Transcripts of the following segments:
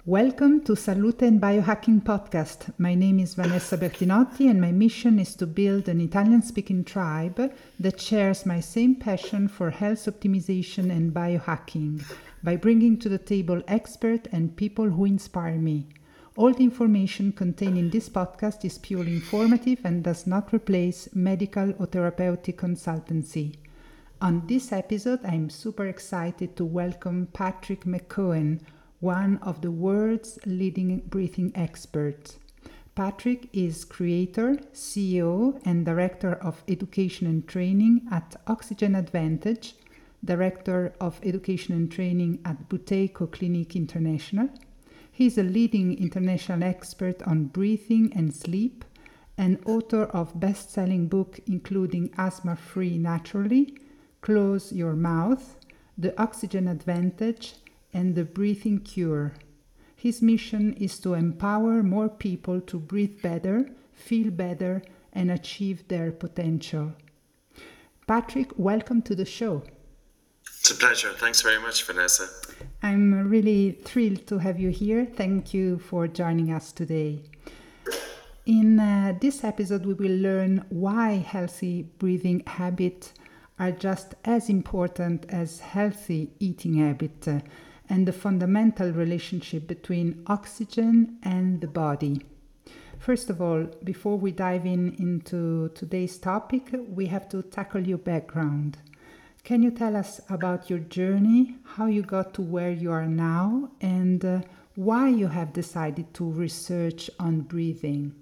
Welcome to Salute and Biohacking Podcast. My name is Vanessa Bertinotti and my mission is to build an Italian-speaking tribe that shares my same passion for health optimization and biohacking by bringing to the table experts and people who inspire me. All the information contained in this podcast is purely informative and does not replace medical or therapeutic consultancy. On this episode, I'm super excited to welcome Patrick McKeown, one of the world's leading breathing experts. Patrick is creator, CEO, and director of education and training at Oxygen Advantage, director of education and training at Buteyko Clinic International. He is a leading international expert on breathing and sleep, and author of best-selling books including Asthma Free Naturally, Close Your Mouth, The Oxygen Advantage, and The Breathing Cure. His mission is to empower more people to breathe better, feel better, and achieve their potential. Patrick, welcome to the show. It's a pleasure. Thanks very much, Vanessa. I'm really thrilled to have you here. Thank you for joining us today. In this episode, we will learn why healthy breathing habits are just as important as healthy eating habits and the fundamental relationship between oxygen and the body. First of all, before we dive into today's topic, we have to tackle your background. Can you tell us about your journey, how you got to where you are now, and why you have decided to research on breathing?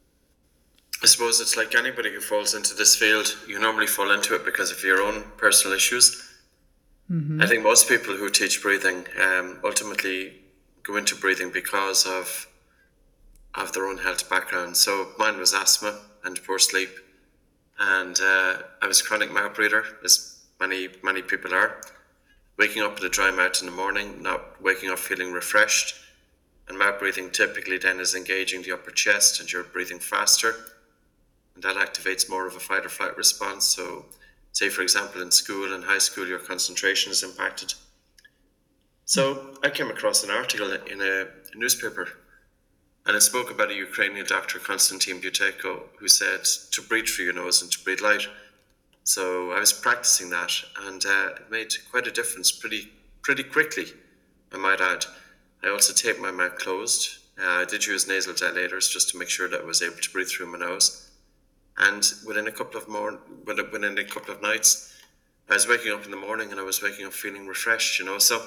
I suppose it's like anybody who falls into this field, you normally fall into it because of your own personal issues. I think most people who teach breathing ultimately go into breathing because of their own health background. So mine was asthma and poor sleep, and I was a chronic mouth breather, as many people are. Waking up with a dry mouth in the morning, not waking up feeling refreshed, and mouth breathing typically then is engaging the upper chest, and you're breathing faster, and that activates more of a fight or flight response. So say, for example, in school and high school, your concentration is impacted. So I came across an article in a newspaper, and it spoke about a Ukrainian doctor, Konstantin Buteyko, who said to breathe through your nose and to breathe light. So I was practicing that, and it made quite a difference pretty quickly, I might add. I also taped my mouth closed. I did use nasal dilators just to make sure that I was able to breathe through my nose. And within a couple of nights, I was waking up in the morning and I was waking up feeling refreshed,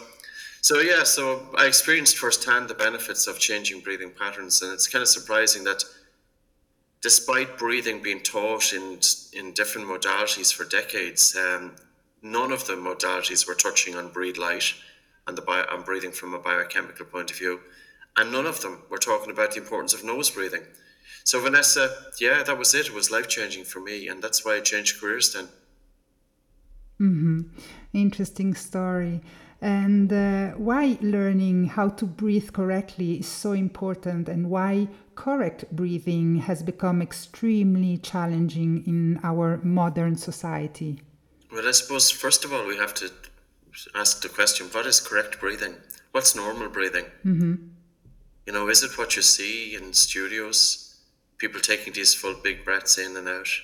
So I experienced firsthand the benefits of changing breathing patterns. And it's kind of surprising that despite breathing being taught in different modalities for decades, none of the modalities were touching on breathe light and on breathing from a biochemical point of view. And none of them were talking about the importance of nose breathing. So Vanessa, yeah, that was it. It was life-changing for me, and that's why I changed careers then. Interesting story. And why learning how to breathe correctly is so important, and why correct breathing has become extremely challenging in our modern society? Well, I suppose, first of all, we have to ask the question, what is correct breathing? What's normal breathing? Is it what you see in studios? People taking these full big breaths in and out?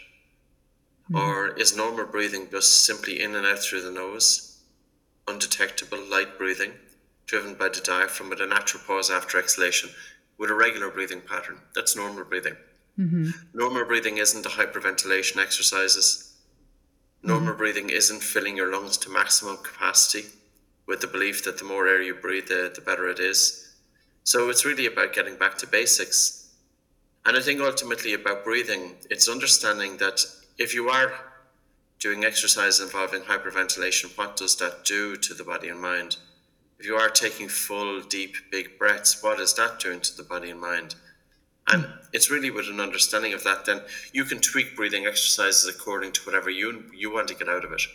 Or is normal breathing just simply in and out through the nose, undetectable light breathing, driven by the diaphragm with a natural pause after exhalation, with a regular breathing pattern? That's normal breathing. Normal breathing isn't the hyperventilation exercises. Normal breathing isn't filling your lungs to maximum capacity with the belief that the more air you breathe, the better it is. So it's really about getting back to basics. And I think ultimately about breathing, it's understanding that if you are doing exercise involving hyperventilation, what does that do to the body and mind? If you are taking full, deep, big breaths, what is that doing to the body and mind? And it's really with an understanding of that, then you can tweak breathing exercises according to whatever you want to get out of it.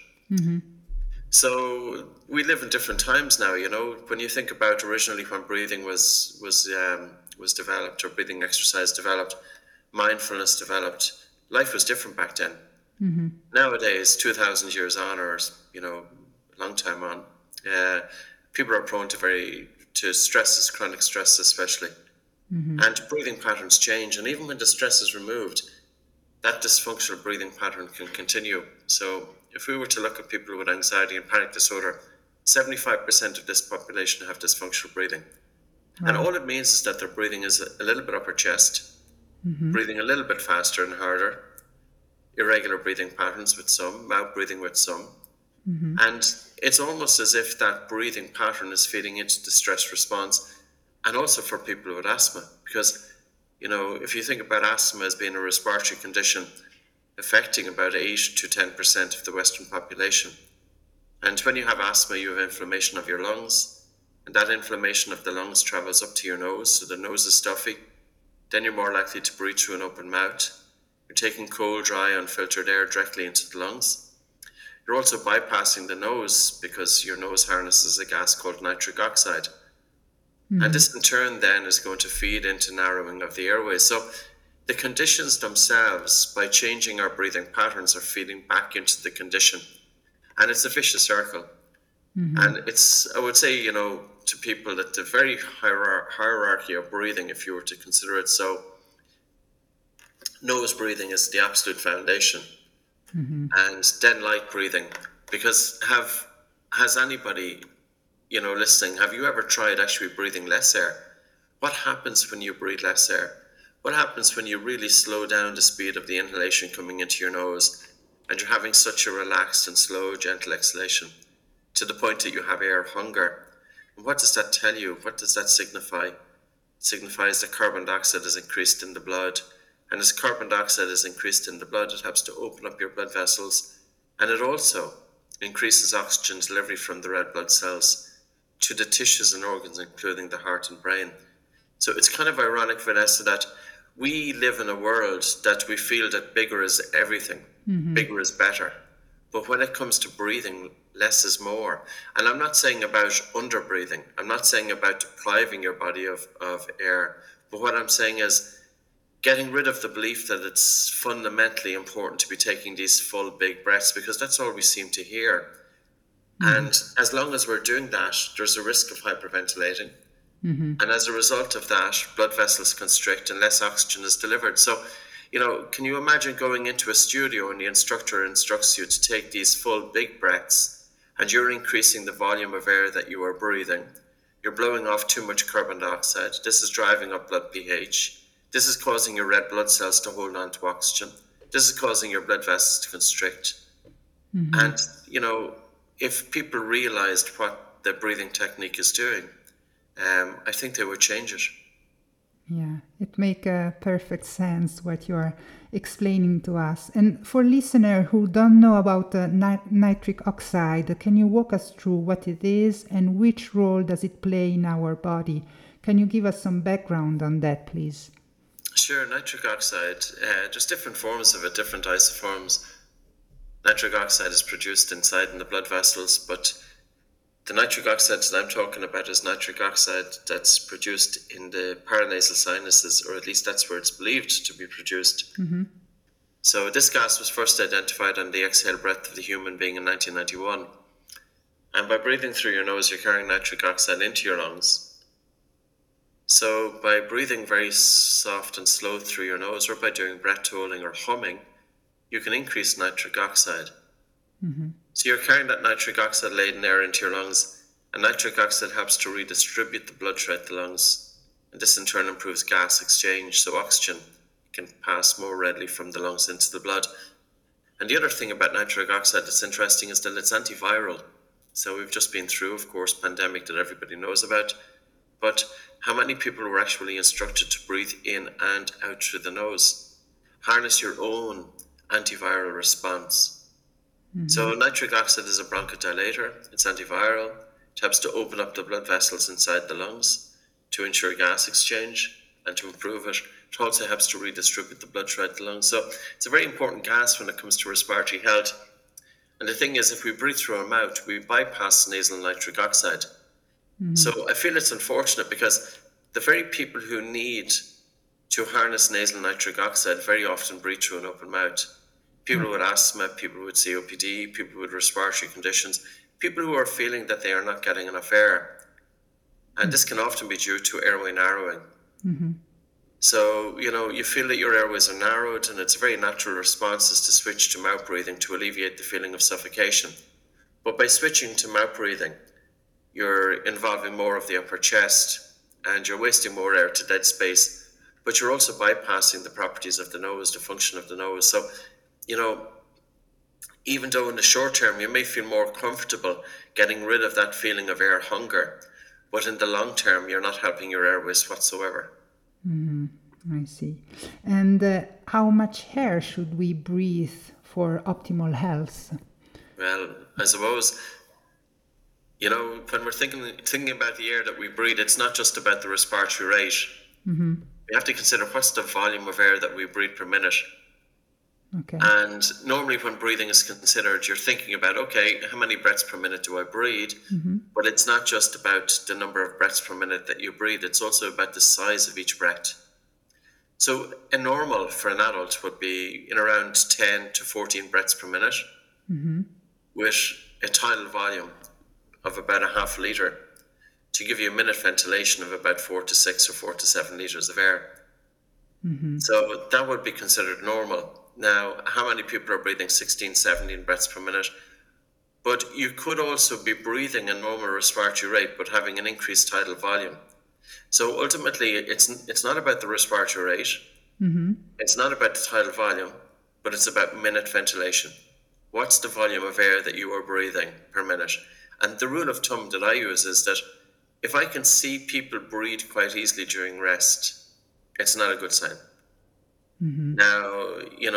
So we live in different times now, when you think about originally when breathing was developed, or breathing exercise developed, mindfulness developed, life was different back then. Nowadays, 2,000 years on, or a long time on, people are prone to to stresses, chronic stress especially. And breathing patterns change. And even when the stress is removed, that dysfunctional breathing pattern can continue. So if we were to look at people with anxiety and panic disorder, 75% of this population have dysfunctional breathing. And all it means is that their breathing is a little bit upper chest, breathing a little bit faster and harder, irregular breathing patterns with some, mouth breathing with some. And it's almost as if that breathing pattern is feeding into the stress response, and also for people with asthma. Because, if you think about asthma as being a respiratory condition affecting about 8 to 10% of the Western population. And when you have asthma, you have inflammation of your lungs, and that inflammation of the lungs travels up to your nose, so the nose is stuffy. Then you're more likely to breathe through an open mouth. You're taking cold, dry, unfiltered air directly into the lungs. You're also bypassing the nose because your nose harnesses a gas called nitric oxide. And this in turn then is going to feed into narrowing of the airways. So the conditions themselves, by changing our breathing patterns, are feeding back into the condition. And it's a vicious circle. And it's, I would say, to people that the very hierarchy of breathing, if you were to consider it so, nose breathing is the absolute foundation. And then light breathing, because has anybody, listening, have you ever tried actually breathing less air? What happens when you breathe less air? What happens when you really slow down the speed of the inhalation coming into your nose and you're having such a relaxed and slow, gentle exhalation to the point that you have air hunger? And what does that tell you? What does that signify? It signifies that carbon dioxide is increased in the blood. And as carbon dioxide is increased in the blood, it helps to open up your blood vessels. And it also increases oxygen delivery from the red blood cells to the tissues and organs, including the heart and brain. So it's kind of ironic, Vanessa, that we live in a world that we feel that bigger is everything, bigger is better. But when it comes to breathing, less is more. And I'm not saying about under breathing. I'm not saying about depriving your body of air. But what I'm saying is getting rid of the belief that it's fundamentally important to be taking these full big breaths, because that's all we seem to hear. And as long as we're doing that, there's a risk of hyperventilating. And as a result of that, blood vessels constrict and less oxygen is delivered. So, can you imagine going into a studio and the instructor instructs you to take these full big breaths and you're increasing the volume of air that you are breathing? You're blowing off too much carbon dioxide. This is driving up blood pH. This is causing your red blood cells to hold on to oxygen. This is causing your blood vessels to constrict. And, if people realized what the breathing technique is doing, I think they would change it. Yeah, it makes perfect sense what you're explaining to us. And for listeners who don't know about nitric oxide, can you walk us through what it is and which role does it play in our body? Can you give us some background on that, please? Sure. Nitric oxide, there's different forms of it, different isoforms. Nitric oxide is produced inside in the blood vessels, but the nitric oxide that I'm talking about is nitric oxide that's produced in the paranasal sinuses, or at least that's where it's believed to be produced. So this gas was first identified on the exhale breath of the human being in 1991. And by breathing through your nose, you're carrying nitric oxide into your lungs. So by breathing very soft and slow through your nose, or by doing breath holding or humming, you can increase nitric oxide. So you're carrying that nitric oxide laden air into your lungs, and nitric oxide helps to redistribute the blood throughout the lungs. And this in turn improves gas exchange, so oxygen can pass more readily from the lungs into the blood. And the other thing about nitric oxide that's interesting is that it's antiviral. So we've just been through, of course, pandemic that everybody knows about. But how many people were actually instructed to breathe in and out through the nose? Harness your own antiviral response. So nitric oxide is a bronchodilator. It's antiviral. It helps to open up the blood vessels inside the lungs to ensure gas exchange and to improve it. It also helps to redistribute the blood throughout the lungs. So it's a very important gas when it comes to respiratory health. And the thing is, if we breathe through our mouth, we bypass nasal nitric oxide. So I feel it's unfortunate because the very people who need to harness nasal nitric oxide very often breathe through an open mouth. People with asthma, people with COPD, people with respiratory conditions, people who are feeling that they are not getting enough air. And this can often be due to airway narrowing. So, you feel that your airways are narrowed, and it's a very natural response is to switch to mouth breathing to alleviate the feeling of suffocation. But by switching to mouth breathing, you're involving more of the upper chest, and you're wasting more air to dead space, but you're also bypassing the properties of the nose, the function of the nose. So, even though in the short term you may feel more comfortable getting rid of that feeling of air hunger, but in the long term you're not helping your airways whatsoever. I see. And how much air should we breathe for optimal health? Well, I suppose, when we're thinking about the air that we breathe, it's not just about the respiratory rate. We have to consider what's the volume of air that we breathe per minute. Okay. And normally when breathing is considered, you're thinking about, okay, how many breaths per minute do I breathe? But it's not just about the number of breaths per minute that you breathe. It's also about the size of each breath. So a normal for an adult would be in around 10 to 14 breaths per minute with a tidal volume of about a half litre to give you a minute ventilation of about 4 to 6 or 4 to 7 litres of air. So that would be considered normal. Now, how many people are breathing 16, 17 breaths per minute? But you could also be breathing a normal respiratory rate, but having an increased tidal volume. So ultimately, it's not about the respiratory rate. It's not about the tidal volume, but it's about minute ventilation. What's the volume of air that you are breathing per minute? And the rule of thumb that I use is that if I can see people breathe quite easily during rest, it's not a good sign. Now,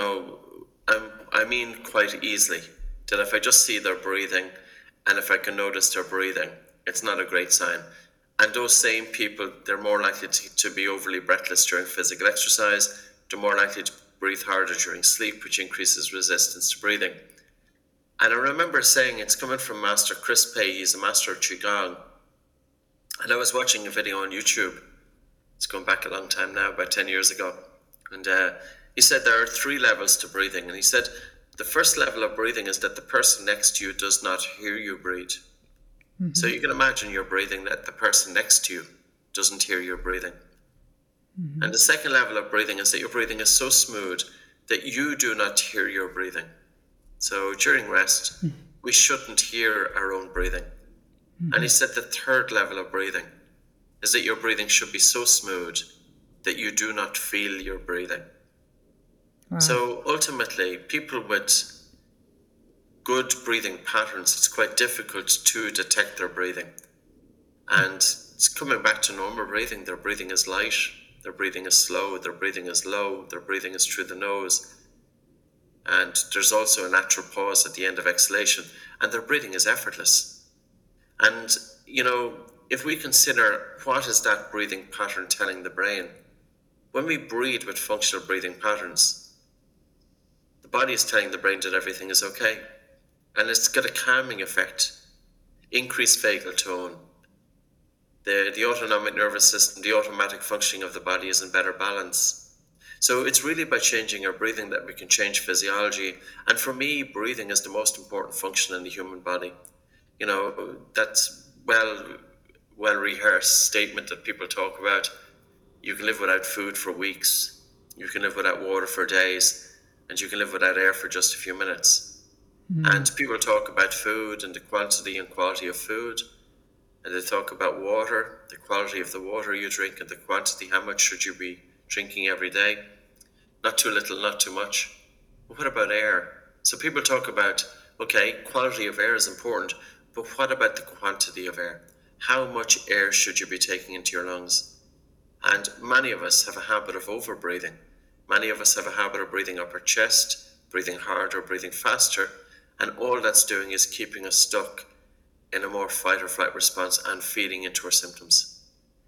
I mean quite easily, that if I just see they're breathing and if I can notice they're breathing, it's not a great sign. And those same people, they're more likely to be overly breathless during physical exercise. They're more likely to breathe harder during sleep, which increases resistance to breathing. And I remember saying, it's coming from Master Chris Pei, he's a master of Qigong. And I was watching a video on YouTube. It's going back a long time now, about 10 years ago. And he said there are 3 levels to breathing. And he said the first level of breathing is that the person next to you does not hear you breathe. So you can imagine you're breathing that the person next to you doesn't hear you breathing. And the second level of breathing is that your breathing is so smooth that you do not hear your breathing. So during rest, we shouldn't hear our own breathing. And he said the third level of breathing is that your breathing should be so smooth that you do not feel your breathing. Wow. So ultimately, people with good breathing patterns, it's quite difficult to detect their breathing. And it's coming back to normal breathing. Their breathing is light, their breathing is slow, their breathing is low, their breathing is through the nose. And there's also a natural pause at the end of exhalation, and their breathing is effortless. And, if we consider what is that breathing pattern telling the brain, when we breathe with functional breathing patterns, the body is telling the brain that everything is okay. And it's got a calming effect, increased vagal tone. The autonomic nervous system, the automatic functioning of the body is in better balance. So it's really by changing our breathing that we can change physiology. And for me, breathing is the most important function in the human body. That's well-rehearsed statement that people talk about. You can live without food for weeks, you can live without water for days, and you can live without air for just a few minutes. And people talk about food and the quantity and quality of food, and they talk about water, the quality of the water you drink and the quantity, how much should you be drinking every day. Not too little, not too much. But what about air? So people talk about, okay, quality of air is important, but what about the quantity of air? How much air should you be taking into your lungs? And many of us have a habit of over-breathing. Many of us have a habit of breathing up our chest, breathing harder, breathing faster, and all that's doing is keeping us stuck in a more fight or flight response and feeding into our symptoms.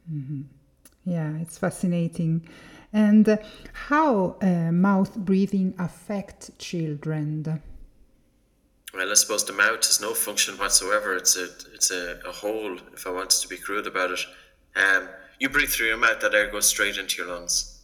Yeah, it's fascinating. And how mouth breathing affects children? Well, I suppose the mouth has no function whatsoever. It's a hole, if I wanted to be crude about it. You breathe through your mouth, that air goes straight into your lungs.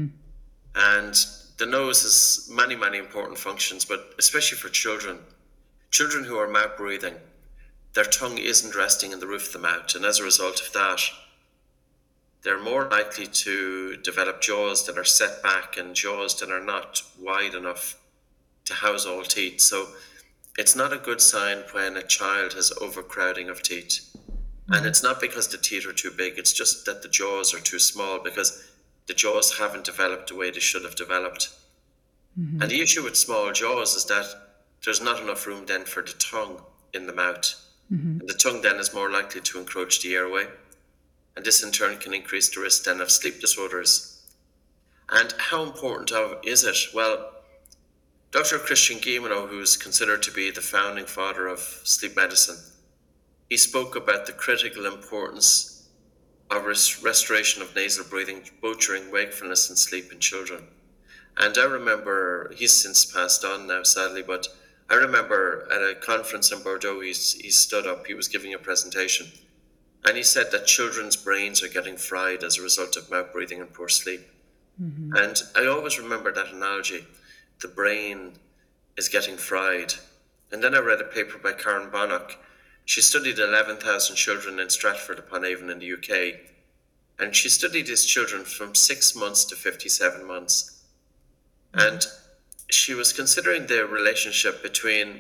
And the nose has many important functions, but especially for children who are mouth breathing, their tongue isn't resting in the roof of the mouth, and as a result of that, they're more likely to develop jaws that are set back and jaws that are not wide enough to house all teeth. So it's not a good sign when a child has overcrowding of teeth. And it's not because the teeth are too big, it's just that the jaws are too small because the jaws haven't developed the way they should have developed. And the issue with small jaws is that there's not enough room then for the tongue in the mouth. And the tongue then is more likely to encroach the airway. And this in turn can increase the risk then of sleep disorders. And how important is it? Well, Dr. Christian Guilleminault, who's considered to be the founding father of sleep medicine, he spoke about the critical importance of restoration of nasal breathing, both during wakefulness and sleep in children. And I remember, he's since passed on now, sadly, but I remember at a conference in Bordeaux, he stood up, he was giving a presentation, and he said that children's brains are getting fried as a result of mouth breathing and poor sleep. And I always remember that analogy. The brain is getting fried. And then I read a paper by Karen Bonnock. She studied 11,000 children in Stratford-upon-Avon in the UK. And she studied these children from 6 months to 57 months. And she was considering the relationship between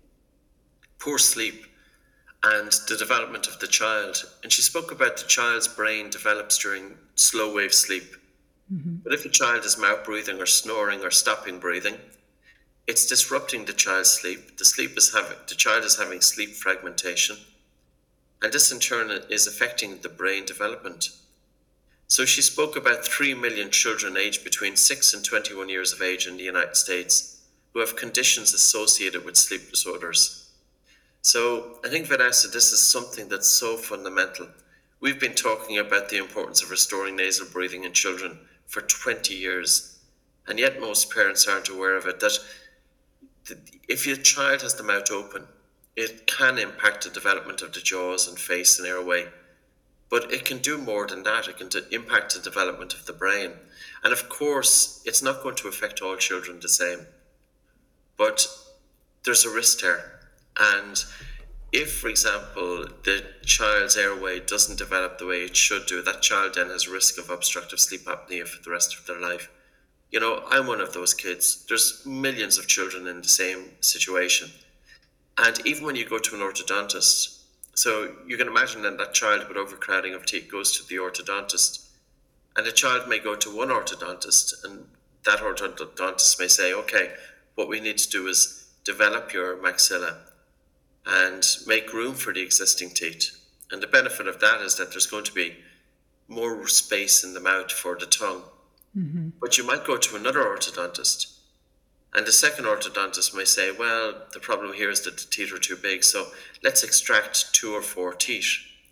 poor sleep and the development of the child. And she spoke about the child's brain develops during slow wave sleep. But if a child is mouth breathing or snoring or stopping breathing, it's disrupting the child's sleep. The child is having sleep fragmentation, and this in turn is affecting the brain development. So she spoke about 3 million children aged between 6 and 21 years of age in the United States who have conditions associated with sleep disorders. So I think, Vanessa, this is something that's so fundamental. We've been talking about the importance of restoring nasal breathing in children for 20 years, and yet most parents aren't aware of it, that if your child has the mouth open, it can impact the development of the jaws and face and airway, but it can do more than that. It can impact the development of the brain. And of course, it's not going to affect all children the same, but there's a risk there. And if, for example, the child's airway doesn't develop the way it should do, that child then has a risk of obstructive sleep apnea for the rest of their life. You know, I'm one of those kids. There's millions of children in the same situation. And even when you go to an orthodontist, so you can imagine then that child with overcrowding of teeth goes to the orthodontist, and the child may go to one orthodontist, and that orthodontist may say, okay, what we need to do is develop your maxilla and make room for the existing teeth. And the benefit of that is that there's going to be more space in the mouth for the tongue. But you might go to another orthodontist, and the second orthodontist may say, well, the problem here is that the teeth are too big, so let's extract 2 or 4 teeth.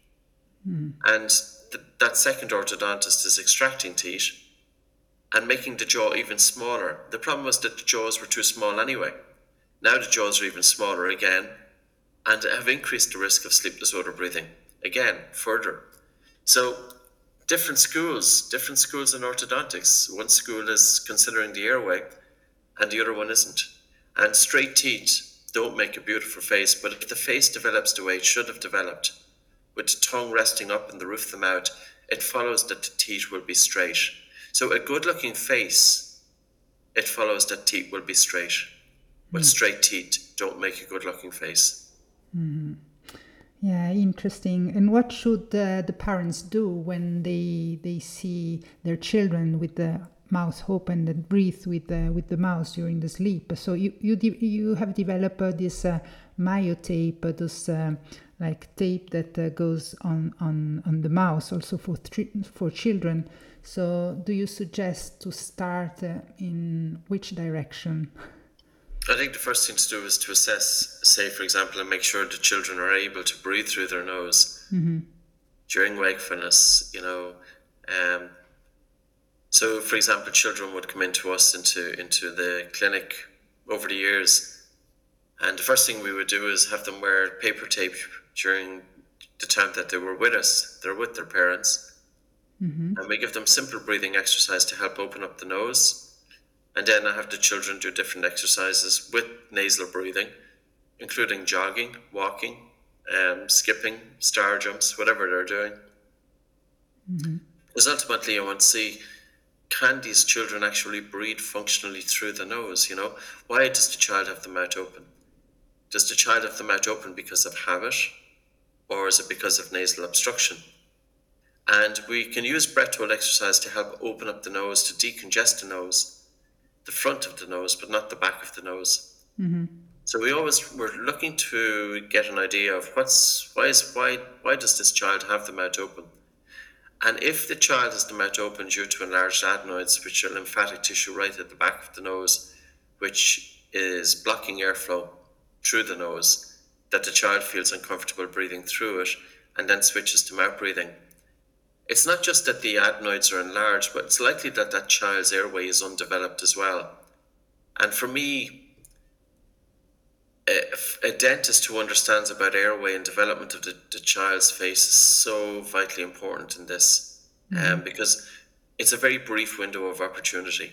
And that second orthodontist is extracting teeth and making the jaw even smaller. The problem was that the jaws were too small anyway. Now the jaws are even smaller again, and have increased the risk of sleep disorder breathing again further. So different schools in orthodontics. One school is considering the airway and the other one isn't. And straight teeth don't make a beautiful face, but if the face develops the way it should have developed, with the tongue resting up in the roof of the mouth, it follows that the teeth will be straight. So a good looking face, it follows that teeth will be straight. But straight teeth don't make a good looking face. Yeah, interesting. And what should the parents do when they see their children with the mouth open and breathe with the mouth during the sleep? So you have developed this myotape, this like tape that goes on the mouth also for children. So do you suggest to start in which direction? I think the first thing to do is to assess, say, for example, and make sure the children are able to breathe through their nose during wakefulness, you know. So, for example, children would come into us, into the clinic over the years, and the first thing we would do is have them wear paper tape during the time that they were with us. They're with their parents. And we give them simple breathing exercise to help open up the nose. And then I have the children do different exercises with nasal breathing, including jogging, walking, skipping, star jumps, whatever they're doing. Because ultimately I want to see, can these children actually breathe functionally through the nose? Why does the child have the mouth open? Does the child have the mouth open because of habit, or is it because of nasal obstruction? And we can use breath hold exercise to help open up the nose, to decongest the nose, the front of the nose, but not the back of the nose. So we're looking to get an idea of why does this child have the mouth open? And if the child has the mouth open due to enlarged adenoids, which are lymphatic tissue right at the back of the nose, which is blocking airflow through the nose, that the child feels uncomfortable breathing through it and then switches to mouth breathing. It's not just that the adenoids are enlarged, but it's likely that that child's airway is undeveloped as well. And for me, a dentist who understands about airway and development of the child's face is so vitally important in this, because it's a very brief window of opportunity.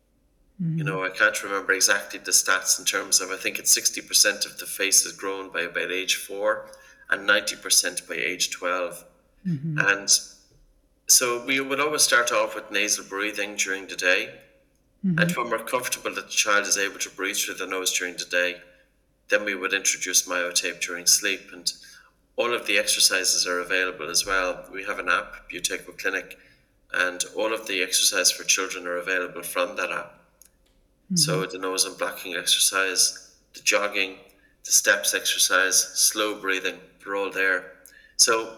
I can't remember exactly the stats in terms of, I think it's 60% of the face is grown by about age 4 and 90% by age 12. And so we would always start off with nasal breathing during the day. And when we're comfortable that the child is able to breathe through the nose during the day, then we would introduce myotape during sleep. And all of the exercises are available as well. We have an app, Buteyko Clinic, and all of the exercises for children are available from that app. So the nose and blocking exercise, the jogging, the steps exercise, slow breathing, they're all there. So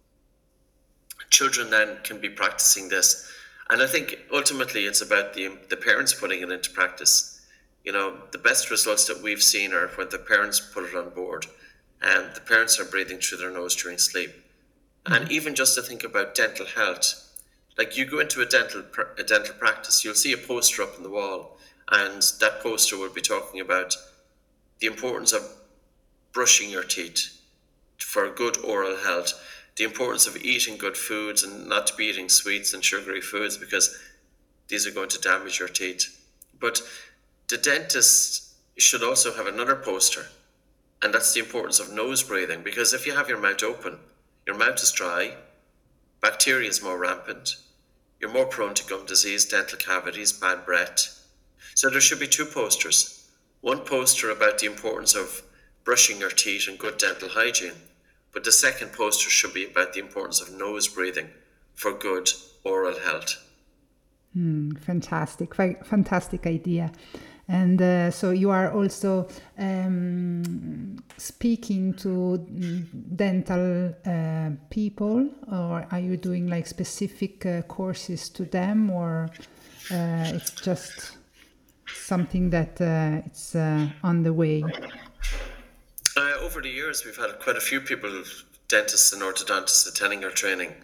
children then can be practicing this. And I think ultimately it's about the parents putting it into practice. The best results that we've seen are when the parents put it on board, and the parents are breathing through their nose during sleep. And even just to think about dental health, like you go into a dental practice, you'll see a poster up on the wall, and that poster will be talking about the importance of brushing your teeth for good oral health, the importance of eating good foods and not to be eating sweets and sugary foods because these are going to damage your teeth. But the dentist should also have another poster, and that's the importance of nose breathing, because if you have your mouth open, your mouth is dry, bacteria is more rampant, you're more prone to gum disease, dental cavities, bad breath. So there should be two posters. One poster about the importance of brushing your teeth and good dental hygiene, but the second poster should be about the importance of nose breathing for good oral health. Fantastic, fantastic idea. And so you are also speaking to dental people, or are you doing like specific courses to them, or it's just something that it's on the way? Over the years, we've had quite a few people, dentists and orthodontists, attending our training.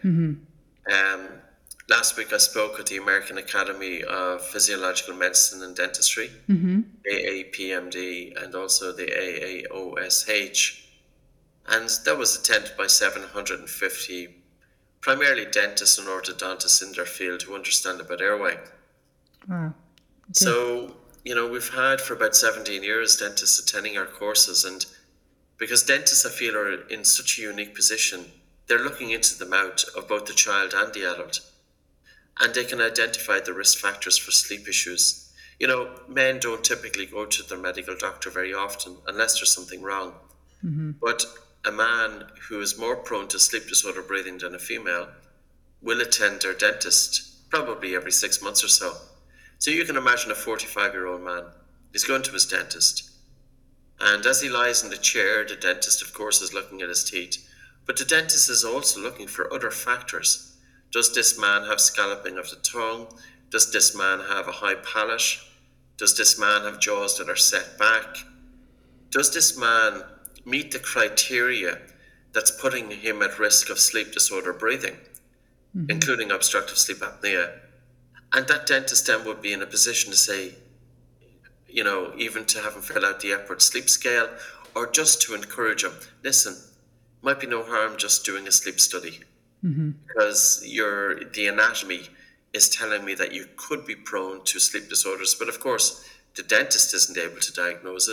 Last week I spoke at the American Academy of Physiological Medicine and Dentistry, AAPMD, and also the AAOSH. And that was attended by 750, primarily dentists and orthodontists in their field who understand about airway. Wow. Okay. So, we've had for about 17 years dentists attending our courses, and because dentists, I feel, are in such a unique position, they're looking into the mouth of both the child and the adult. And they can identify the risk factors for sleep issues. Men don't typically go to their medical doctor very often unless there's something wrong. But a man who is more prone to sleep disorder breathing than a female will attend their dentist probably every 6 months or so. So you can imagine a 45-year-old man. He's going to his dentist. And as he lies in the chair, the dentist, of course, is looking at his teeth. But the dentist is also looking for other factors. Does this man have scalloping of the tongue? Does this man have a high palate? Does this man have jaws that are set back? Does this man meet the criteria that's putting him at risk of sleep disorder breathing, including obstructive sleep apnea? And that dentist then would be in a position to say, even to have him fill out the Epworth Sleep Scale, or just to encourage him, listen, might be no harm just doing a sleep study. Because the anatomy is telling me that you could be prone to sleep disorders. But of course, the dentist isn't able to diagnose it.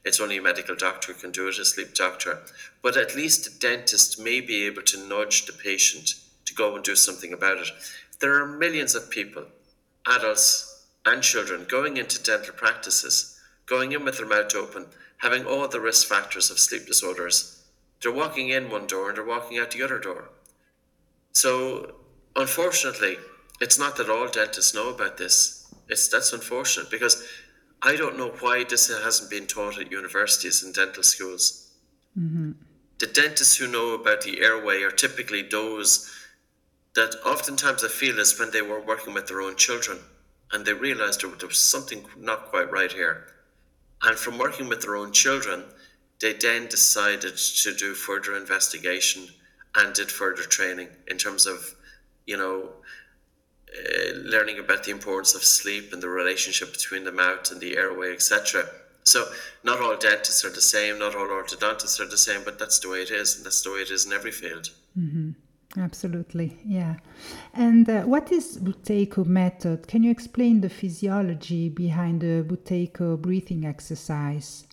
It's only a medical doctor who can do it, a sleep doctor. But at least a dentist may be able to nudge the patient to go and do something about it. There are millions of people, adults and children, going into dental practices, going in with their mouth open, having all the risk factors of sleep disorders. They're walking in one door and they're walking out the other door. So, unfortunately, it's not that all dentists know about this. That's unfortunate, because I don't know why this hasn't been taught at universities and dental schools. The dentists who know about the airway are typically those that oftentimes I feel is when they were working with their own children and they realized there was something not quite right here. And from working with their own children, they then decided to do further investigation and did further training in terms of, learning about the importance of sleep and the relationship between the mouth and the airway, etc. So not all dentists are the same, not all orthodontists are the same, but that's the way it is, and that's the way it is in every field. Absolutely, yeah. And what is Buteyko method? Can you explain the physiology behind the Buteyko breathing exercise?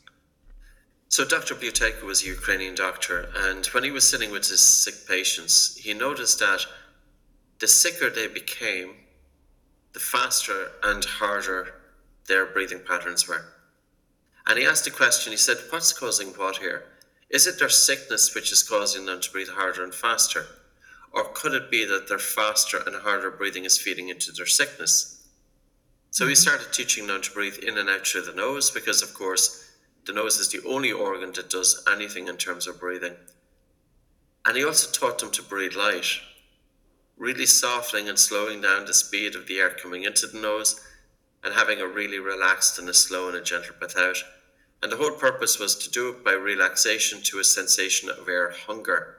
So Dr. Buteyko was a Ukrainian doctor, and when he was sitting with his sick patients, he noticed that the sicker they became, the faster and harder their breathing patterns were. And he asked a question, he said, what's causing what here? Is it their sickness which is causing them to breathe harder and faster? Or could it be that their faster and harder breathing is feeding into their sickness? So he started teaching them to breathe in and out through the nose, because of course the nose is the only organ that does anything in terms of breathing. And he also taught them to breathe light, really softening and slowing down the speed of the air coming into the nose and having a really relaxed and a slow and a gentle breath out. And the whole purpose was to do it by relaxation to a sensation of air hunger.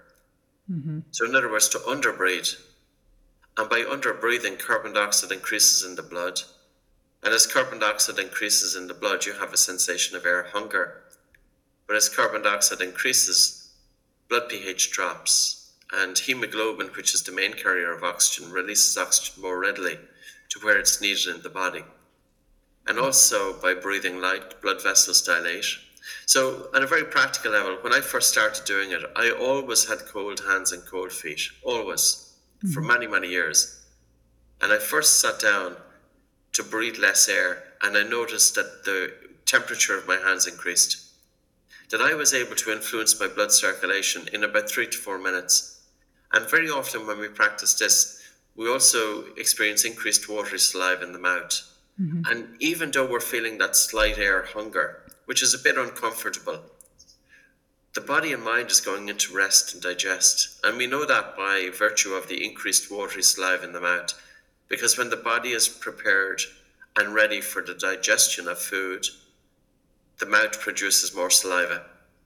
So in other words, to underbreathe. And by underbreathing, carbon dioxide increases in the blood. And as carbon dioxide increases in the blood, you have a sensation of air hunger. But as carbon dioxide increases, blood pH drops. And hemoglobin, which is the main carrier of oxygen, releases oxygen more readily to where it's needed in the body. And also, by breathing light, blood vessels dilate. So, on a very practical level, when I first started doing it, I always had cold hands and cold feet, always, for many, many years. And I first sat down to breathe less air, and I noticed that the temperature of my hands increased, that I was able to influence my blood circulation in about 3 to 4 minutes. And very often when we practice this, we also experience increased watery saliva in the mouth. And even though we're feeling that slight air hunger, which is a bit uncomfortable, the body and mind is going into rest and digest. And we know that by virtue of the increased watery saliva in the mouth, because when the body is prepared and ready for the digestion of food, the mouth produces more saliva.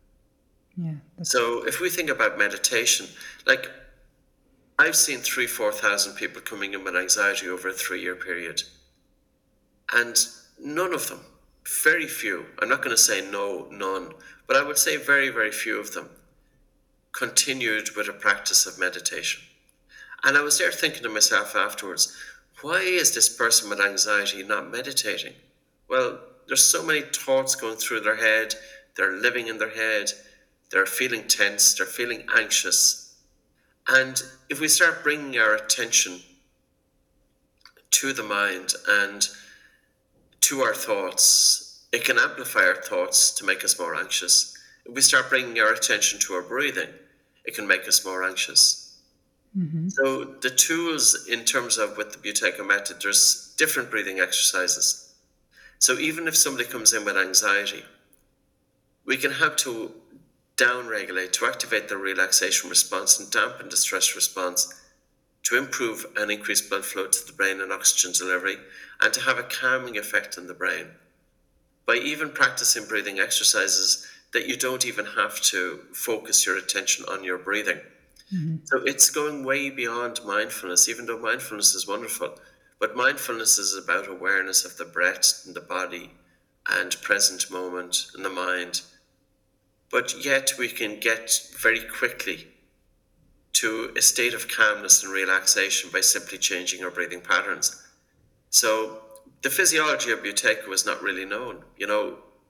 So if we think about meditation, like I've seen 3,000-4,000 people coming in with anxiety over a 3-year period. And none of them, very few, I'm not going to say no, none, but I would say very, very few of them continued with a practice of meditation. And I was there thinking to myself afterwards, why is this person with anxiety not meditating? Well, there's so many thoughts going through their head, they're living in their head, they're feeling tense, they're feeling anxious. And if we start bringing our attention to the mind and to our thoughts, it can amplify our thoughts to make us more anxious. If we start bringing our attention to our breathing, it can make us more anxious. So the tools in terms of with the Buteyko method, there's different breathing exercises. So even if somebody comes in with anxiety, we can help to down-regulate, to activate the relaxation response and dampen the stress response, to improve and increase blood flow to the brain and oxygen delivery, and to have a calming effect on the brain. By even practicing breathing exercises that you don't even have to focus your attention on your breathing. So it's going way beyond mindfulness, even though mindfulness is wonderful. But mindfulness is about awareness of the breath and the body and present moment in the mind. But yet we can get very quickly to a state of calmness and relaxation by simply changing our breathing patterns. So the physiology of Buteyko is not really known.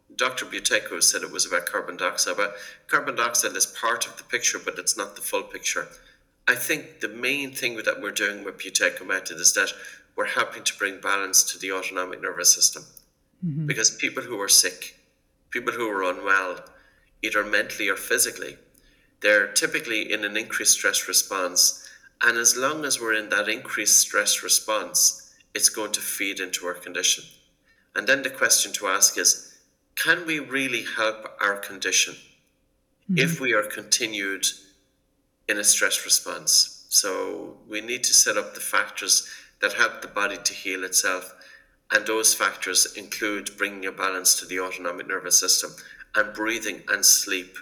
Dr. Buteyko said it was about carbon dioxide, but carbon dioxide is part of the picture, but it's not the full picture. I think the main thing that we're doing with Buteyko method is that we're helping to bring balance to the autonomic nervous system. Because people who are sick, people who are unwell, either mentally or physically, they're typically in an increased stress response. And as long as we're in that increased stress response, it's going to feed into our condition. And then the question to ask is, can we really help our condition if we are continued in a stress response? So we need to set up the factors that help the body to heal itself. And those factors include bringing a balance to the autonomic nervous system, and breathing and sleep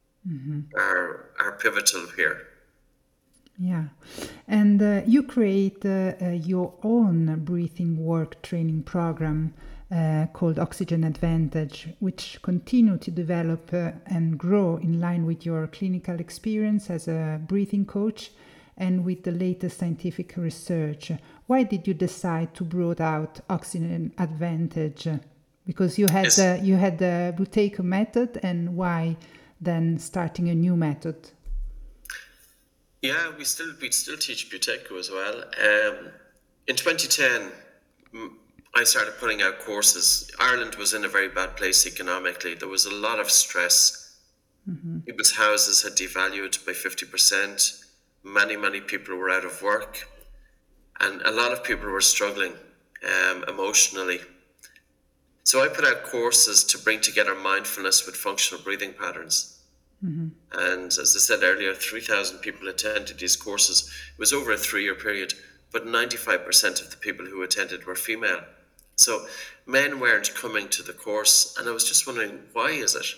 are pivotal here. Yeah. And you create your own breathing work training program called Oxygen Advantage, which continue to develop and grow in line with your clinical experience as a breathing coach and with the latest scientific research. Why did you decide to broaden out Oxygen Advantage? Because you had the Buteyko method, and why then starting a new method? Yeah, we still teach Buteyko as well. In 2010, I started putting out courses. Ireland was in a very bad place economically. There was a lot of stress. People's houses had devalued by 50%. Many people were out of work. And a lot of people were struggling emotionally. So I put out courses to bring together mindfulness with functional breathing patterns. And as I said earlier, 3,000 people attended these courses. It was over a 3-year period, but 95% of the people who attended were female. So men weren't coming to the course, and I was just wondering, why is it?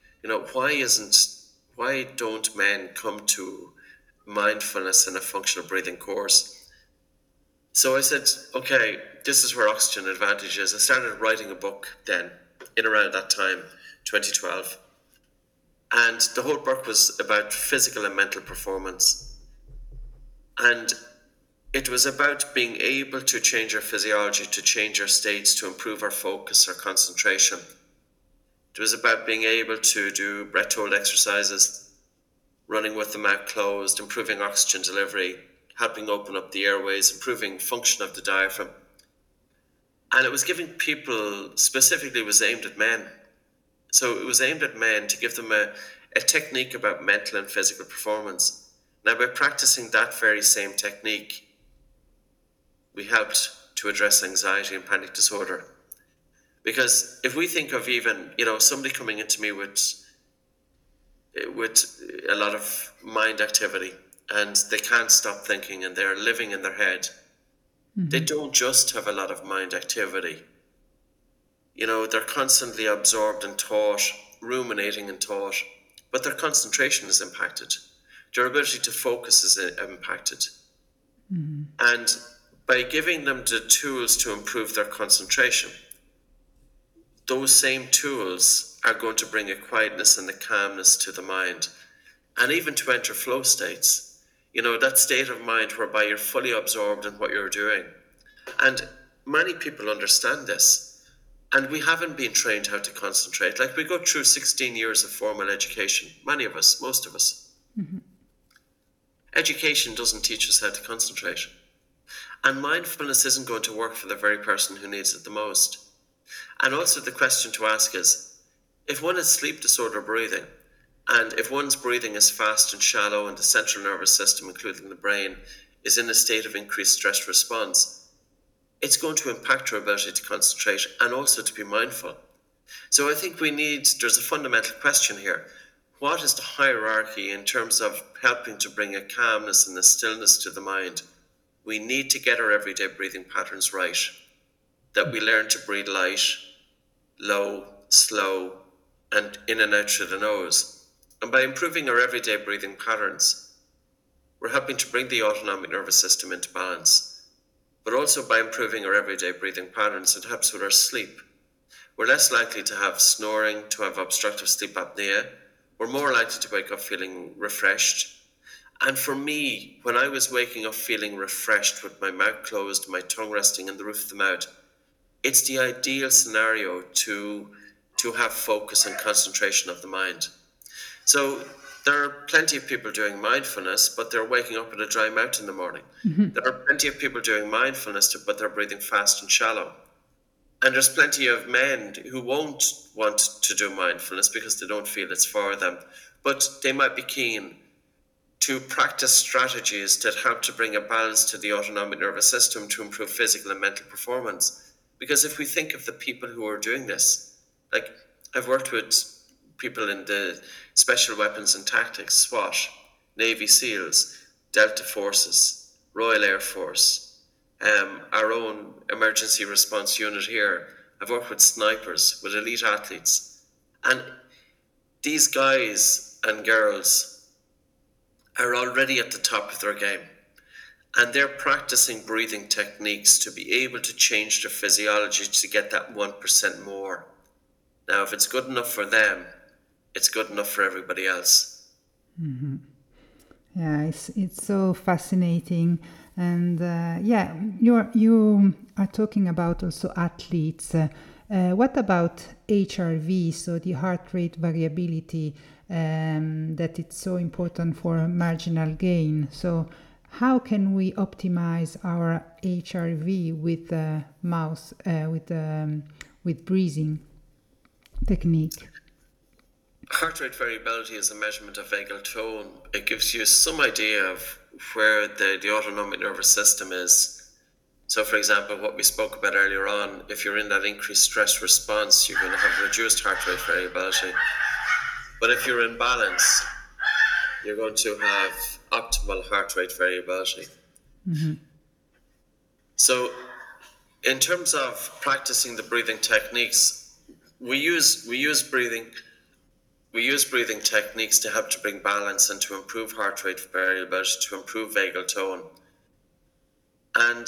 Why don't men come to mindfulness and a functional breathing course? So I said, okay, this is where Oxygen Advantage is. I started writing a book then, in around that time, 2012. And the whole book was about physical and mental performance. And it was about being able to change our physiology, to change our states, to improve our focus, our concentration. It was about being able to do breath hold exercises, running with the mouth closed, improving oxygen delivery, helping open up the airways, improving function of the diaphragm. And it was giving people, specifically it was aimed at men. So it was aimed at men to give them a technique about mental and physical performance. Now, by practicing that very same technique, we helped to address anxiety and panic disorder. Because if we think of even, somebody coming into me with a lot of mind activity, and they can't stop thinking and they're living in their head, they don't just have a lot of mind activity. They're constantly absorbed in thought, ruminating in thought, but their concentration is impacted. Their ability to focus is impacted. And by giving them the tools to improve their concentration, those same tools are going to bring a quietness and a calmness to the mind, and even to enter flow states. That state of mind whereby you're fully absorbed in what you're doing. And many people understand this. And we haven't been trained how to concentrate. Like, we go through 16 years of formal education. Many of us, most of us. Education doesn't teach us how to concentrate. And mindfulness isn't going to work for the very person who needs it the most. And also the question to ask is, if one has sleep disorder breathing, and if one's breathing is fast and shallow and the central nervous system, including the brain, is in a state of increased stress response, it's going to impact our ability to concentrate and also to be mindful. So I think there's a fundamental question here. What is the hierarchy in terms of helping to bring a calmness and a stillness to the mind? We need to get our everyday breathing patterns right. That we learn to breathe light, low, slow, and in and out through the nose. And by improving our everyday breathing patterns, we're helping to bring the autonomic nervous system into balance. But also by improving our everyday breathing patterns, it helps with our sleep. We're less likely to have snoring, to have obstructive sleep apnea. We're more likely to wake up feeling refreshed. And for me, when I was waking up feeling refreshed with my mouth closed, my tongue resting in the roof of the mouth, it's the ideal scenario to to have focus and concentration of the mind. So there are plenty of people doing mindfulness, but they're waking up with a dry mouth in the morning. There are plenty of people doing mindfulness, but they're breathing fast and shallow. And there's plenty of men who won't want to do mindfulness because they don't feel it's for them, but they might be keen to practice strategies that help to bring a balance to the autonomic nervous system to improve physical and mental performance. Because if we think of the people who are doing this, like I've worked with people in the Special Weapons and Tactics, SWAT, Navy SEALs, Delta Forces, Royal Air Force, our own emergency response unit here. I've worked with snipers, with elite athletes. And these guys and girls are already at the top of their game. And they're practicing breathing techniques to be able to change their physiology to get that 1% more. Now, if it's good enough for them, it's good enough for everybody else. Mm-hmm. Yeah, it's so fascinating. And you are talking about also athletes. What about HRV, so the heart rate variability, that it's so important for marginal gain? So how can we optimize our HRV with breathing technique? Heart rate variability is a measurement of vagal tone. It gives you some idea of where the autonomic nervous system is. So, for example, what we spoke about earlier on, if you're in that increased stress response, you're going to have reduced heart rate variability. But if you're in balance, you're going to have optimal heart rate variability. Mm-hmm. So, in terms of practicing the breathing techniques, we use breathing techniques to help to bring balance and to improve heart rate variability, to improve vagal tone. And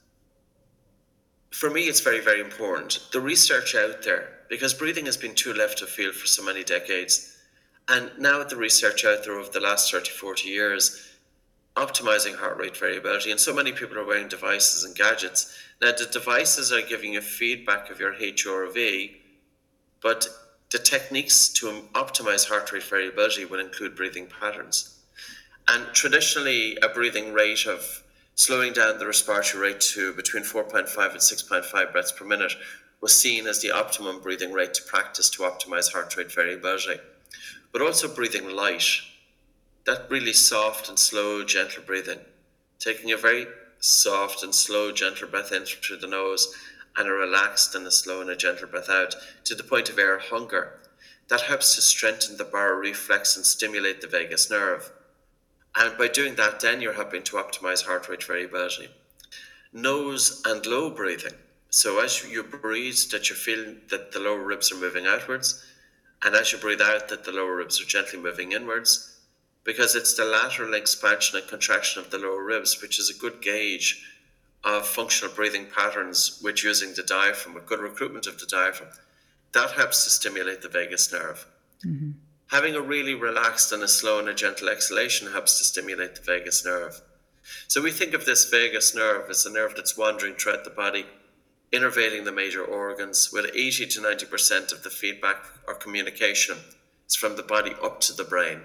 for me, it's very, very important. The research out there, because breathing has been too left of field for so many decades, and now the research out there over the last 30, 40 years, optimizing heart rate variability, and so many people are wearing devices and gadgets. Now, the devices are giving you feedback of your HRV, but the techniques to optimize heart rate variability will include breathing patterns. And traditionally, a breathing rate of slowing down the respiratory rate to between 4.5 and 6.5 breaths per minute was seen as the optimum breathing rate to practice to optimize heart rate variability. But also breathing light, that really soft and slow, gentle breathing, taking a very soft and slow, gentle breath in through the nose and a relaxed and a slow and a gentle breath out to the point of air hunger. That helps to strengthen the baroreflex and stimulate the vagus nerve. And by doing that, then you're helping to optimize heart rate variability. Nose and low breathing. So as you breathe, that you feel that the lower ribs are moving outwards, and as you breathe out, that the lower ribs are gently moving inwards, because it's the lateral expansion and contraction of the lower ribs, which is a good gauge of functional breathing patterns with using the diaphragm, with good recruitment of the diaphragm. That helps to stimulate the vagus nerve. Mm-hmm. Having a really relaxed and a slow and a gentle exhalation helps to stimulate the vagus nerve. So we think of this vagus nerve as a nerve that's wandering throughout the body, innervating the major organs, with 80 to 90% of the feedback or communication is from the body up to the brain.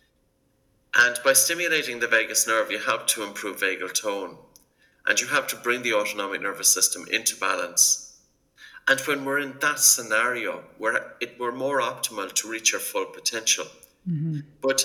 And by stimulating the vagus nerve, you help to improve vagal tone, and you help to bring the autonomic nervous system into balance. And when we're in that scenario, we're more optimal to reach our full potential. Mm-hmm. But,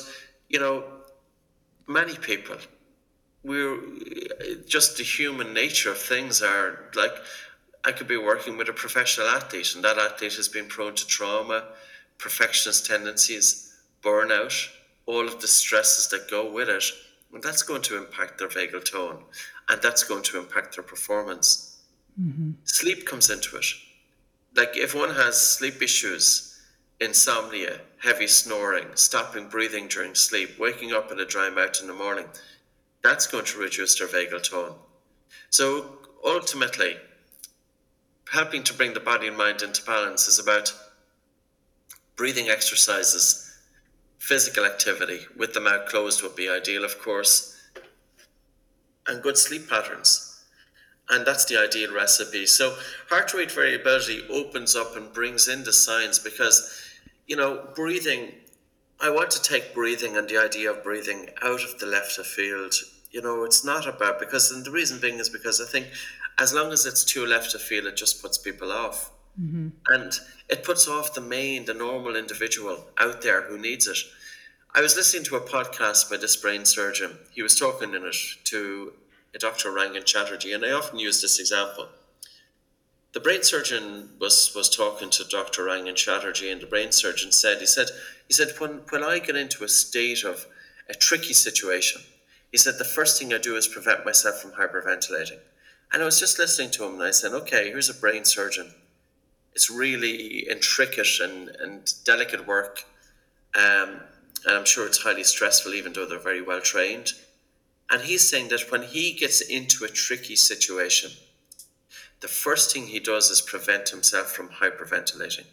many people, we're just the human nature of things are like, I could be working with a professional athlete, and that athlete has been prone to trauma, perfectionist tendencies, burnout, all of the stresses that go with it. And that's going to impact their vagal tone, and that's going to impact their performance. Mm-hmm. Sleep comes into it. Like if one has sleep issues, insomnia, heavy snoring, stopping breathing during sleep, waking up with a dry mouth in the morning, that's going to reduce their vagal tone. So ultimately, helping to bring the body and mind into balance is about breathing exercises, physical activity, with the mouth closed would be ideal, of course, and good sleep patterns. And that's the ideal recipe. So heart rate variability opens up and brings in the science because, breathing, I want to take breathing and the idea of breathing out of the left of field. It's not about, and the reason being is because I think as long as it's too left of field, it just puts people off. And it puts off the normal individual out there who needs it. I was listening to a podcast by this brain surgeon. He was talking in it to a Dr. Rangan Chatterjee, and I often use this example. The brain surgeon was talking to Dr. Rangan Chatterjee, and the brain surgeon said, he said, when I get into a state of a tricky situation, he said, the first thing I do is prevent myself from hyperventilating. And I was just listening to him, and I said, okay, here's a brain surgeon. It's really intricate and delicate work. And I'm sure it's highly stressful, even though they're very well trained. And he's saying that when he gets into a tricky situation, the first thing he does is prevent himself from hyperventilating.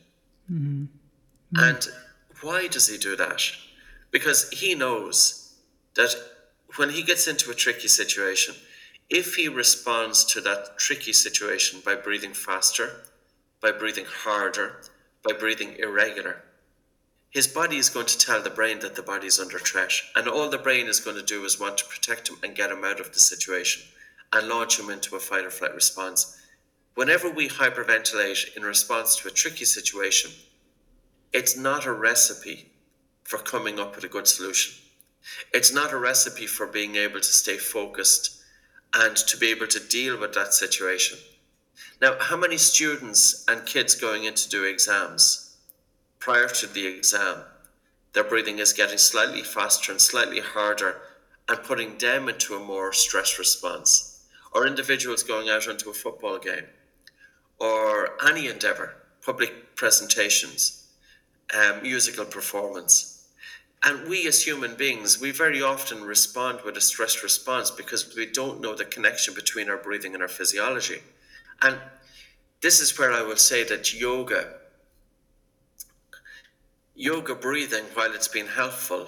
And why does he do that? Because he knows that when he gets into a tricky situation, if he responds to that tricky situation by breathing faster, by breathing harder, by breathing irregular, his body is going to tell the brain that the body is under threat. And all the brain is going to do is want to protect him and get him out of the situation and launch him into a fight or flight response. Whenever we hyperventilate in response to a tricky situation, it's not a recipe for coming up with a good solution. It's not a recipe for being able to stay focused and to be able to deal with that situation. Now, how many students and kids going in to do exams, prior to the exam, their breathing is getting slightly faster and slightly harder and putting them into a more stress response? Or individuals going out into a football game or any endeavour, public presentations, musical performance. And we as human beings, we very often respond with a stress response because we don't know the connection between our breathing and our physiology. And this is where I will say that yoga breathing, while it's been helpful,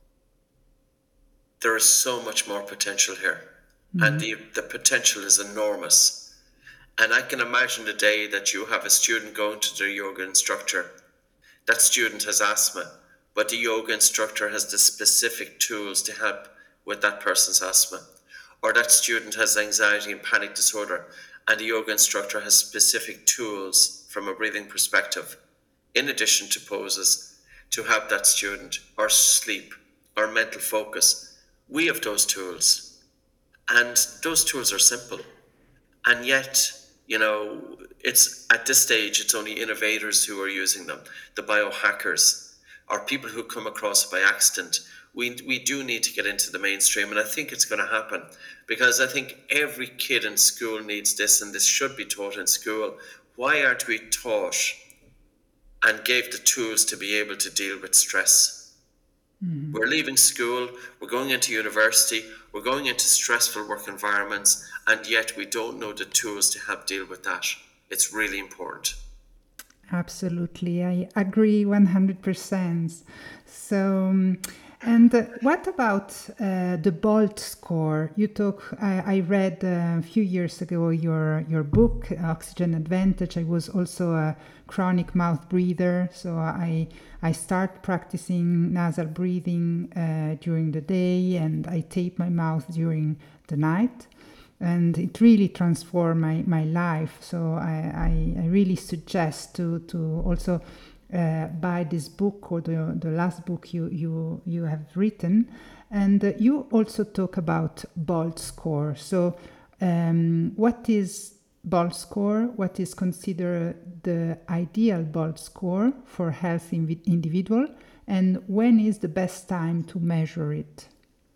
there is so much more potential here. And the potential is enormous. And I can imagine the day that you have a student going to the yoga instructor. That student has asthma, but the yoga instructor has the specific tools to help with that person's asthma. Or that student has anxiety and panic disorder, and the yoga instructor has specific tools from a breathing perspective, in addition to poses, to help that student, or sleep, or mental focus. We have those tools, and those tools are simple. And yet, it's at this stage, it's only innovators who are using them, the biohackers, or people who come across it by accident. We do need to get into the mainstream, and I think it's going to happen because I think every kid in school needs this, and this should be taught in school. Why aren't we taught and gave the tools to be able to deal with stress? We're leaving school, we're going into university, we're going into stressful work environments, and yet we don't know the tools to help deal with that. It's really important. Absolutely, I agree 100%. So, and what about the BOLT score? I read a few years ago your book, Oxygen Advantage. I was also a chronic mouth breather, so I start practicing nasal breathing during the day, and I tape my mouth during the night. And it really transformed my life. So I really suggest to also buy this book or the last book you have written. And you also talk about BOLT score. So what is BOLT score? What is considered the ideal BOLT score for a healthy individual? And when is the best time to measure it?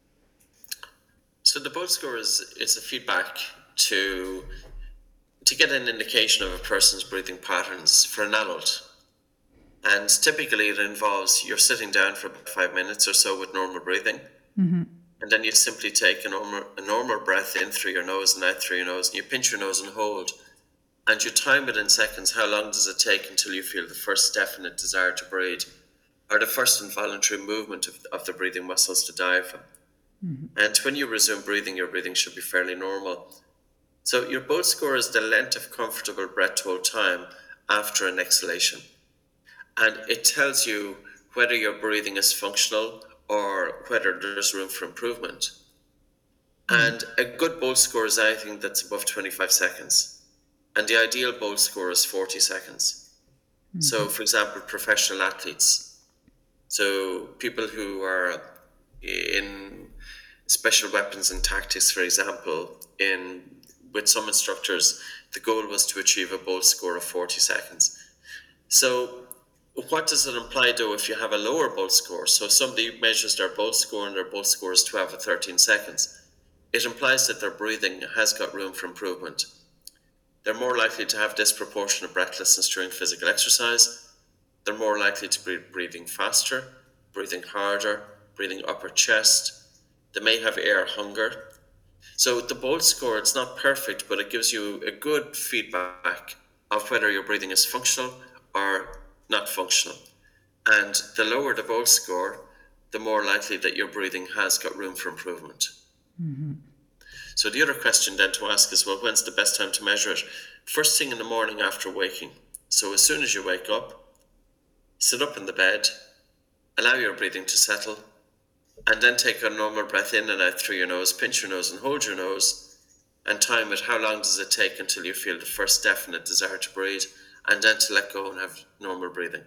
So the BOLT score is a feedback to get an indication of a person's breathing patterns for an adult. And typically it involves you're sitting down for about 5 minutes or so with normal breathing. And then you simply take a normal breath in through your nose and out through your nose, and you pinch your nose and hold. And you time it in seconds. How long does it take until you feel the first definite desire to breathe, or the first involuntary movement of the breathing muscles to diaphragm? And when you resume breathing, your breathing should be fairly normal. So your Bolt score is the length of comfortable breath hold time after an exhalation. And it tells you whether your breathing is functional or whether there's room for improvement. And a good Bolt score is anything that's above 25 seconds. And the ideal Bolt score is 40 seconds. So, for example, professional athletes, so people who are in special weapons and tactics, for example, with some instructors, the goal was to achieve a Bolt score of 40 seconds. So what does it imply, though, if you have a lower Bolt score? So somebody measures their Bolt score and their Bolt score is 12 or 13 seconds. It implies that their breathing has got room for improvement. They're more likely to have disproportionate breathlessness during physical exercise. They're more likely to be breathing faster, breathing harder, breathing upper chest. They may have air hunger. So the Bolt score, it's not perfect, but it gives you a good feedback of whether your breathing is functional or not functional. And the lower the Bolt score, the more likely that your breathing has got room for improvement. So the other question then to ask is, well, when's the best time to measure it? First thing in the morning after waking. So as soon as you wake up, sit up in the bed, allow your breathing to settle, and then take a normal breath in and out through your nose, pinch your nose and hold your nose, and time it. How long does it take until you feel the first definite desire to breathe, and then to let go and have normal breathing?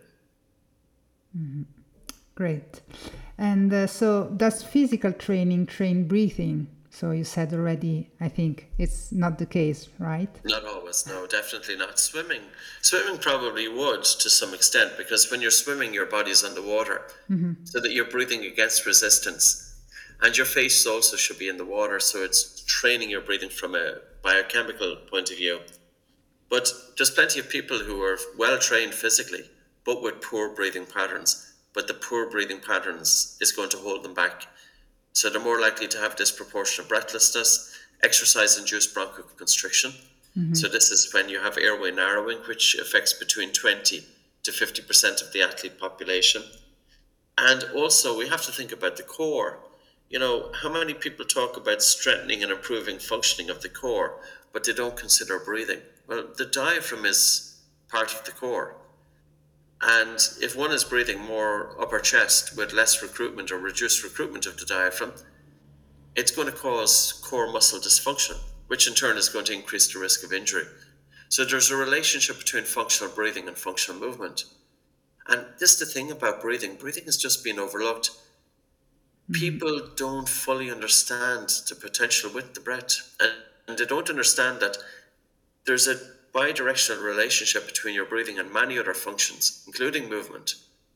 Great. And so does physical training train breathing? So you said already, I think it's not the case, right? Not always, no, definitely not. Swimming probably would to some extent, because when you're swimming, your body's underwater, so that you're breathing against resistance. And your face also should be in the water, so it's training your breathing from a biochemical point of view. But there's plenty of people who are well trained physically, but with poor breathing patterns. But the poor breathing patterns is going to hold them back. So they're more likely to have disproportionate breathlessness, exercise-induced bronchoconstriction. So this is when you have airway narrowing, which affects between 20 to 50% of the athlete population. And also we have to think about the core. You know, how many people talk about strengthening and improving functioning of the core, but they don't consider breathing? Well, the diaphragm is part of the core. And if one is breathing more upper chest with less recruitment or reduced recruitment of the diaphragm, it's going to cause core muscle dysfunction, which in turn is going to increase the risk of injury. So there's a relationship between functional breathing and functional movement. And this is the thing about breathing. Breathing is just being overlooked. People don't fully understand the potential with the breath. And they don't understand that there's a bidirectional relationship between your breathing and many other functions, including movement.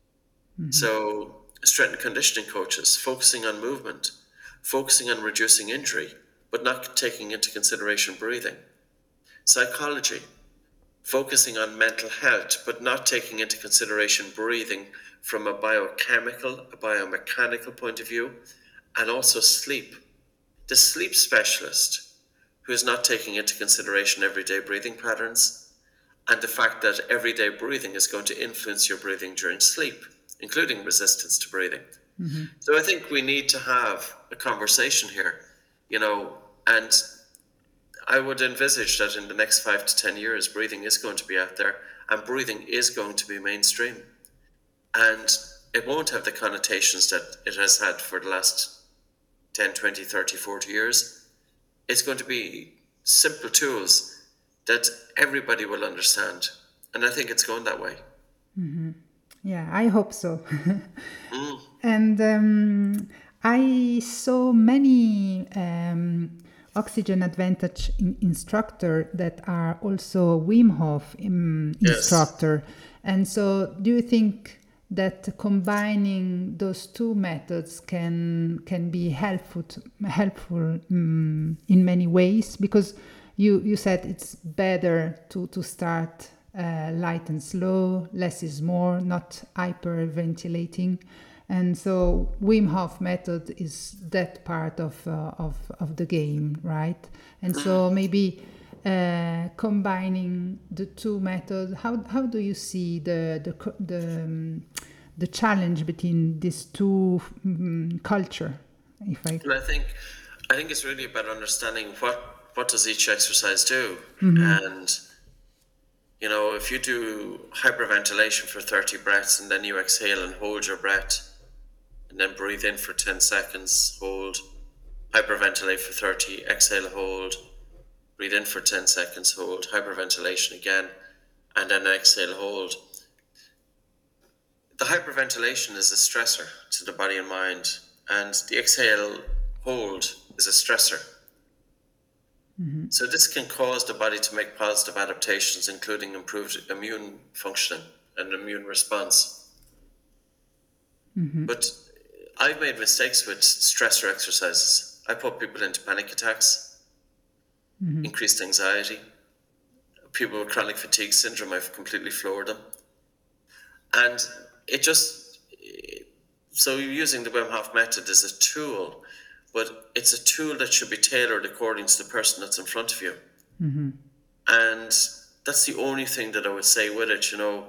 So strength and conditioning coaches focusing on movement, focusing on reducing injury, but not taking into consideration breathing. Psychology, focusing on mental health, but not taking into consideration breathing from a biochemical, a biomechanical point of view, and also sleep. The sleep specialist, who is not taking into consideration everyday breathing patterns and the fact that everyday breathing is going to influence your breathing during sleep, including resistance to breathing. So I think we need to have a conversation here, you know, and I would envisage that in the next 5 to 10 years, breathing is going to be out there and breathing is going to be mainstream. And it won't have the connotations that it has had for the last 10, 20, 30, 40 years. It's going to be simple tools that everybody will understand. And I think it's going that way. Yeah, I hope so. And I saw many Oxygen Advantage instructor that are also Wim Hof instructor. And so do you think that combining those two methods can be helpful in many ways? Because you said it's better to start light and slow, less is more, not hyperventilating. And so Wim Hof method is that part of the game, right? And so maybe combining the two methods, how do you see the challenge between these two culture? And I think it's really about understanding what does each exercise do? And, if you do hyperventilation for 30 breaths and then you exhale and hold your breath and then breathe in for 10 seconds, hold, hyperventilate for 30, exhale, hold, breathe in for 10 seconds, hold, hyperventilation again, and then exhale, hold. The hyperventilation is a stressor to the body and mind, and the exhale, hold is a stressor. So this can cause the body to make positive adaptations, including improved immune functioning and immune response. But I've made mistakes with stressor exercises. I put people into panic attacks, increased anxiety. People with chronic fatigue syndrome, I've completely floored them. And so using the Wim Hof method is a tool, but it's a tool that should be tailored according to the person that's in front of you. And that's the only thing that I would say with it,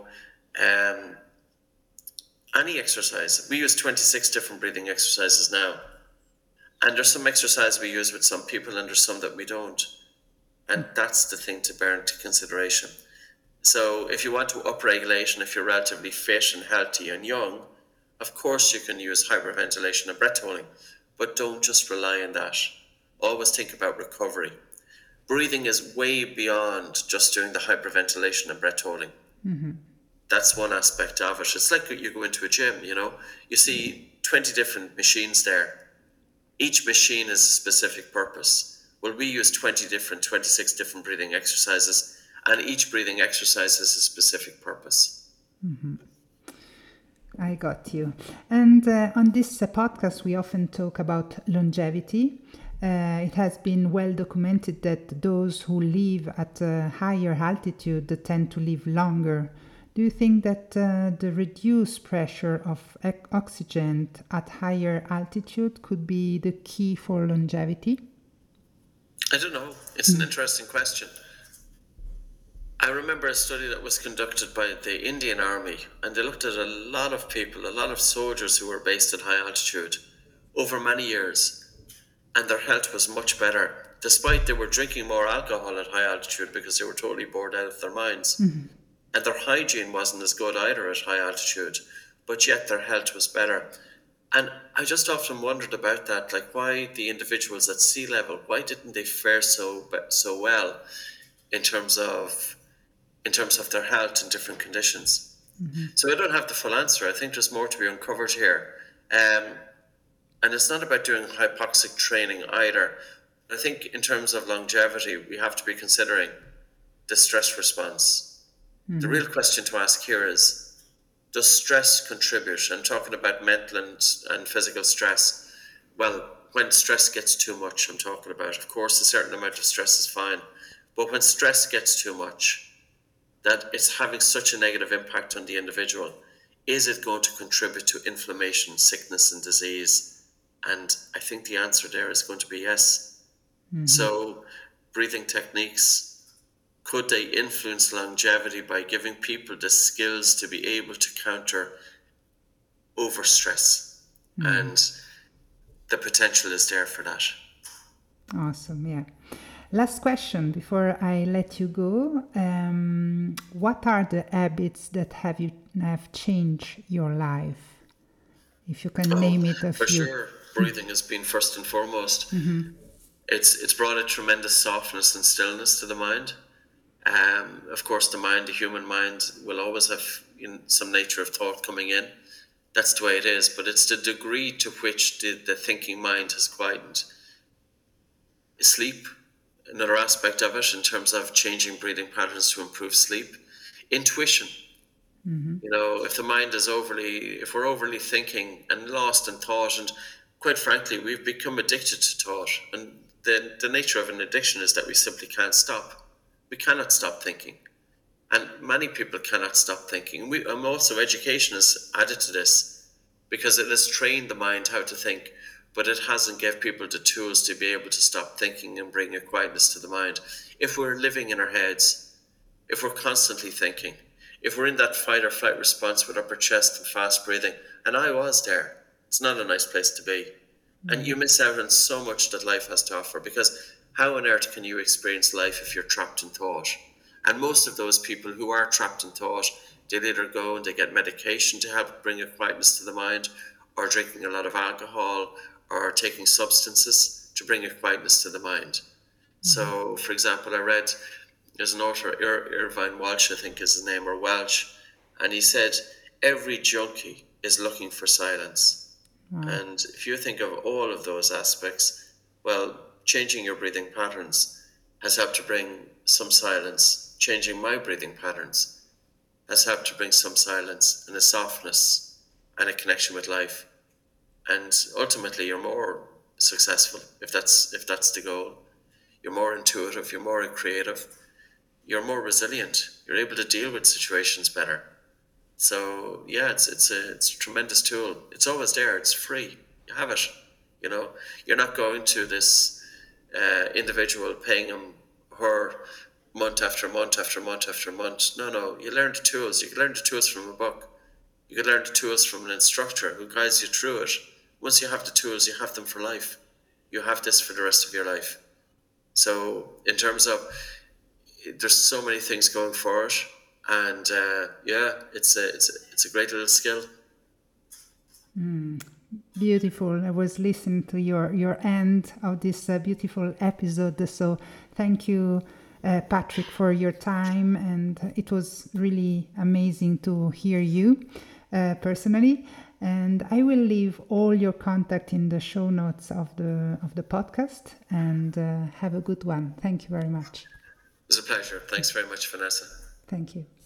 any exercise. We use 26 different breathing exercises now. And there's some exercise we use with some people and there's some that we don't. And that's the thing to bear into consideration. So if you want to upregulate and if you're relatively fit and healthy and young, of course you can use hyperventilation and breath holding, but don't just rely on that. Always think about recovery. Breathing is way beyond just doing the hyperventilation and breath holding. That's one aspect of it. It's like you go into a gym, you see 20 different machines there. Each machine has a specific purpose. Well, we use 26 different breathing exercises, and each breathing exercise has a specific purpose. I got you. And on this podcast, we often talk about longevity. It has been well documented that those who live at a higher altitude tend to live longer. Do you think that the reduced pressure of oxygen at higher altitude could be the key for longevity? I don't know. It's an interesting question. I remember a study that was conducted by the Indian Army, and they looked at a lot of people, a lot of soldiers who were based at high altitude over many years, and their health was much better, despite they were drinking more alcohol at high altitude because they were totally bored out of their minds. And their hygiene wasn't as good either at high altitude, but yet their health was better. And I just often wondered about that, like why the individuals at sea level, why didn't they fare so well in terms of their health in different conditions? So I don't have the full answer. I think there's more to be uncovered here. And it's not about doing hypoxic training either. I think in terms of longevity, we have to be considering the stress response. The real question to ask here is, does stress contribute? I'm talking about mental and physical stress. Well, when stress gets too much, I'm talking about, of course, a certain amount of stress is fine. But when stress gets too much, that it's having such a negative impact on the individual, is it going to contribute to inflammation, sickness, and disease? And I think the answer there is going to be yes. So breathing techniques, could they influence longevity by giving people the skills to be able to counter overstress? And the potential is there for that. Awesome, yeah. Last question before I let you go. What are the habits that have changed your life? If you can name it a for few. Sure, breathing has been first and foremost. It's brought a tremendous softness and stillness to the mind. Of course, the human mind will always have some nature of thought coming in. That's the way it is, but it's the degree to which the thinking mind has quietened. Sleep, another aspect of it in terms of changing breathing patterns to improve sleep. Intuition. If the mind is if we're overly thinking and lost in thought, and quite frankly, we've become addicted to thought. And the nature of an addiction is that we simply can't stop. We cannot stop thinking. And many people cannot stop thinking. And also education has added to this because it has trained the mind how to think, but it hasn't given people the tools to be able to stop thinking and bring a quietness to the mind. If we're living in our heads, if we're constantly thinking, if we're in that fight or flight response with upper chest and fast breathing, and I was there, it's not a nice place to be. And you miss out on so much that life has to offer, because How on earth can you experience life if you're trapped in thought? And most of those people who are trapped in thought, they'll either go and they get medication to help bring a quietness to the mind, or drinking a lot of alcohol, or taking substances to bring a quietness to the mind. So, for example, I read, there's an author, Irvine Welsh, I think is his name, or Welsh, and he said, every junkie is looking for silence. And if you think of all of those aspects, well, changing your breathing patterns has helped to bring some silence. Changing my breathing patterns has helped to bring some silence and a softness and a connection with life. And ultimately, you're more successful if that's the goal. You're more intuitive. You're more creative. You're more resilient. You're able to deal with situations better. So yeah, it's a tremendous tool. It's always there. It's free. You have it. You know, you're not going to this individual paying him her month after month after month after month. No. You learn the tools. You can learn the tools from a book. You can learn the tools from an instructor who guides you through it. Once you have the tools, you have them for life. You have this for the rest of your life. So in terms of, there's so many things going for it, and it's a great little skill. Beautiful. I was listening to your end of this beautiful episode. So thank you, Patrick, for your time, and it was really amazing to hear you personally. And I will leave all your contact in the show notes of the podcast. And have a good one. Thank you very much. It was a pleasure. Thanks very much, Vanessa. Thank you.